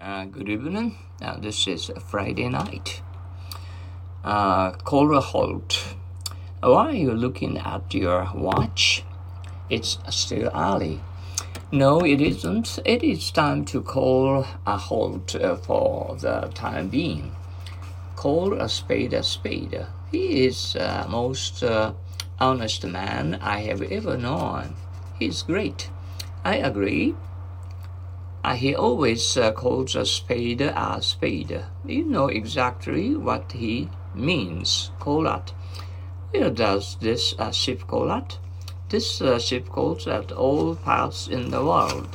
Good evening. This is Friday night. Call a halt. Why are you looking at your watch? It's still early. No, it isn't. It is time to call a halt for the time being. Call a spade a spade. He is the most honest man I have ever known. He's great. I agree. He always calls a spade a spade. You know exactly what he means. Call at. Where does this ship call at? This ship calls at all parts in the world.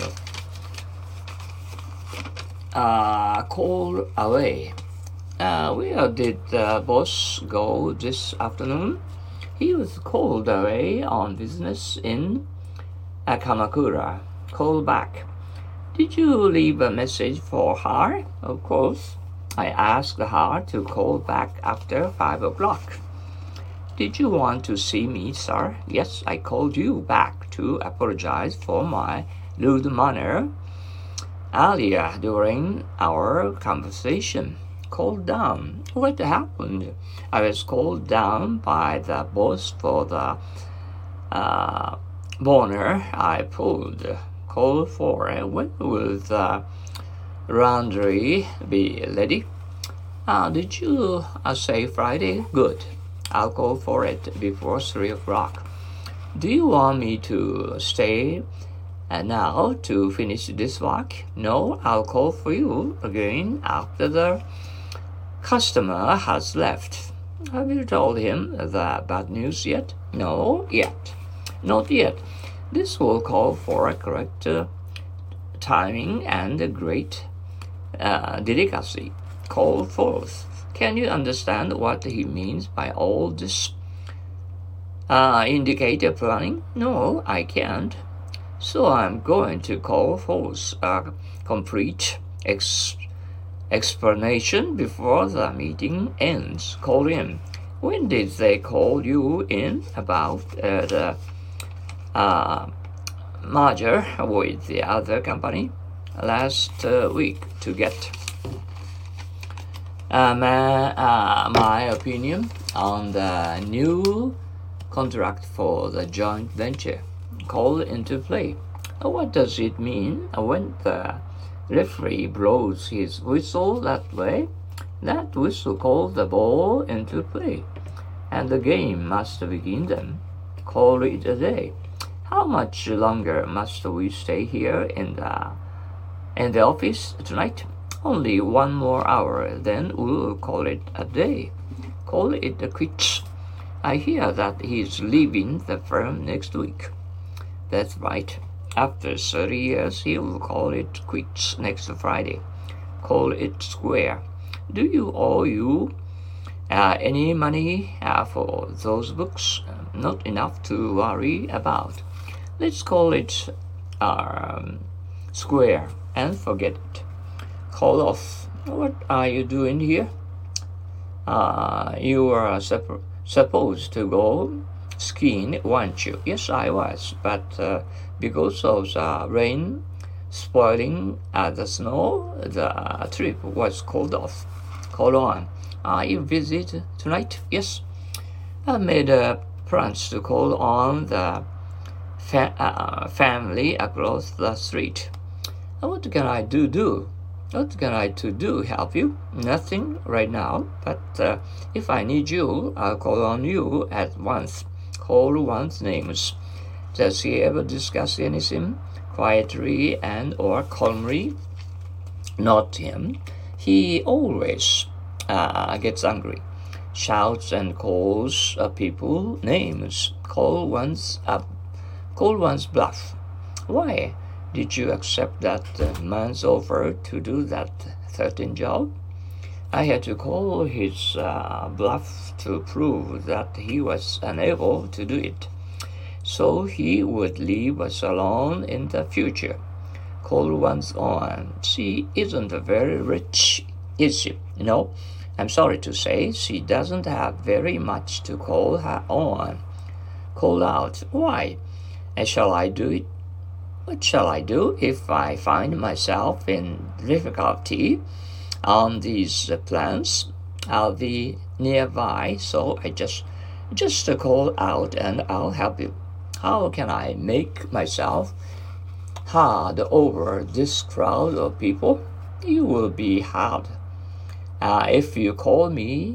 Call away. Where did the boss go this afternoon? He was called away on business in Kamakura. Call back. Did you leave a message for her? Of course. I asked her to call back after 5 o'clock. Did you want to see me, sir? Yes, I called you back to apologize for my rude manner earlier during our conversation. Called down. What happened? I was called down by the boss for the boner I pulled. Call for when will the laundry be ready? Did you say Friday? Good. I'll call for it before 3 o'clock. Do you want me to stay now to finish this work? No, I'll call for you again after the customer has left. Have you told him the bad news yet? No, yet. Not yet. This will call for a correct timing and a great delicacy. Call forth. Can you understand what he means by all this indicator planning? No, I can't. So I'm going to call forth a complete explanation before the meeting ends. Call in. When did they call you in about the merger with the other company? Last week to get my opinion on the new contract for the joint venture. Call into play. What does it mean when the referee blows his whistle that way? That whistle calls the ball into play, and the game must begin then. Call it a day. How much longer must we stay here in the office tonight? Only 1 more hour, then we'll call it a day. Call it a quits. I hear that he's leaving the firm next week. That's right. After 30 years, he'll call it quits next Friday. Call it square. Do you owe any money for those books? Not enough to worry about. Let's call it square and forget it. Call off. What are you doing here? You were supposed to go skiing, weren't you? Yes, I was, but because of the rain spoiling the snow, the trip was called off. Call on. Are you busy tonight? Yes. I made plans to call on the family across the street. What can I do? What can I do? Help you? Nothing right now, but if I need you, I'll call on you at once. Call one's names. Does he ever discuss anything quietly and or calmly? Not him. He always gets angry, shouts and calls people names. Call one's bluff. Why did you accept that man's offer to do that certain job? I had to call his bluff to prove that he was unable to do it, so he would leave us alone in the future. Call one's own. She isn't very rich, is she? No, I'm sorry to say she doesn't have very much to call her own. Call out. Why? Shall I do it? What shall I do if I find myself in difficulty on these plans? I'll be nearby, so I just call out and I'll help you. How can I make myself heard over this crowd of people? You will be heard. If you call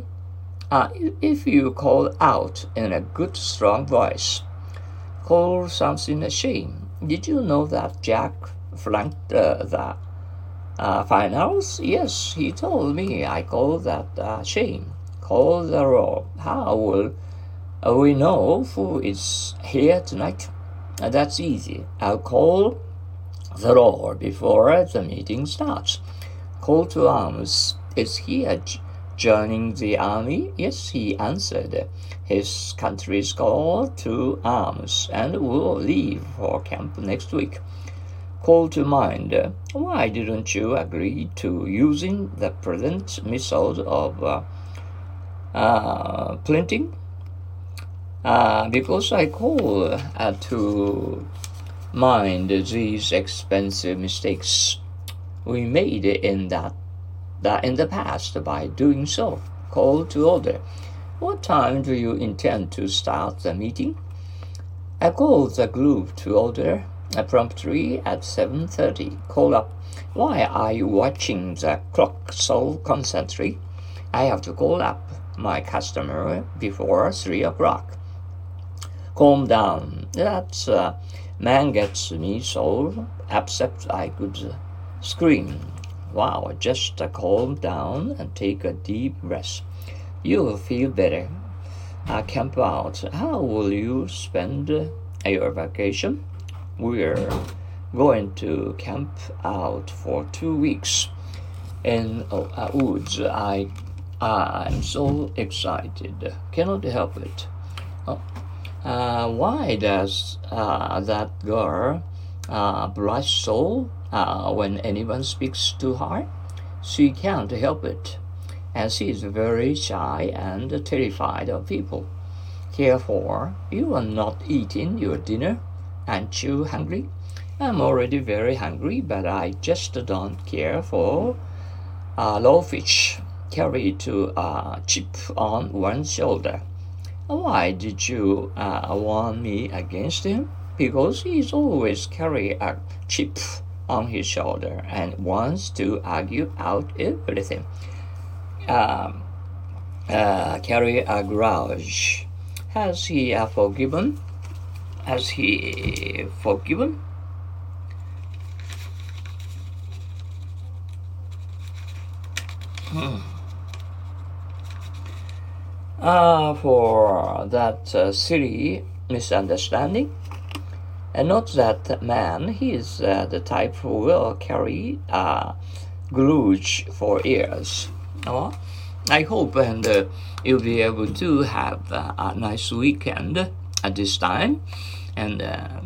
out in a good strong voice, call something a shame. Did you know that Jack flunked the finals? Yes, he told me. I call that shame. Call the roll. How will we know who is here tonight? That's easy. I'll call the roll before the meeting starts. Call to arms. Is he joining the army? Yes, he answered. His country's call to arms and will leave for camp next week. Call to mind. Why didn't you agree to using the present method of printing? Because I call to mind these expensive mistakes we made in the past by doing so. Call to order. What time do you intend to start the meeting? I call the group to order promptly at 7:30. Call up. Why are you watching the clock so constantly? I have to call up my customer before 3 o'clock. Calm down. That man gets me so upset I could scream. Wow, just calm down and take a deep breath. You'll feel better. Camp out. How will you spend your vacation? We're going to camp out for 2 weeks in woods. I'm so excited. Cannot help it. Why does that girl blush so when anyone speaks to her? She can't help it. And she is very shy and terrified of people. Therefore, you are not eating your dinner. Aren't you hungry? I'm already very hungry, but I just don't care for raw fish carried to a chip on one shoulder. Why did you warn me against him? Because he's always carry a chip on his shoulder and wants to argue out everything. Carry a grudge. Has he forgiven? Has he forgiven? For that silly misunderstanding. And not that man, he is the type who will carry a grudge for years. I hope and you'll be able to have a nice weekend at this time. And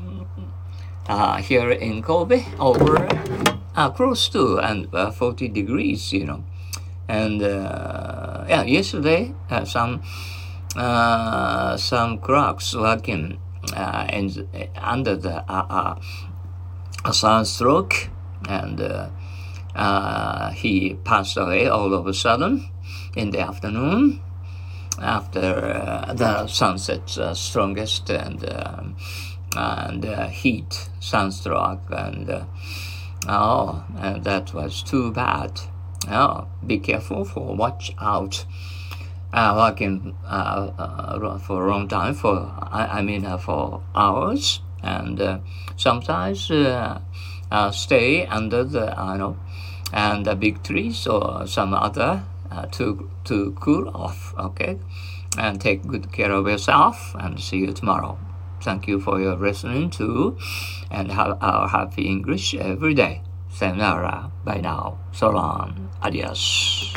here in Kobe, over close to and 40 degrees, And yesterday some cracks working under the sunstroke, and he passed away all of a sudden in the afternoon after the sunset's strongest and heat sunstroke, and that was too bad. Be careful, watch out. Working for a long time, for hours, and sometimes stay under the and the big trees or some other to cool off. Okay, and take good care of yourself. And see you tomorrow. Thank you for your listening to, and have our happy English every day. Sayonara. Bye now. So long. Adios.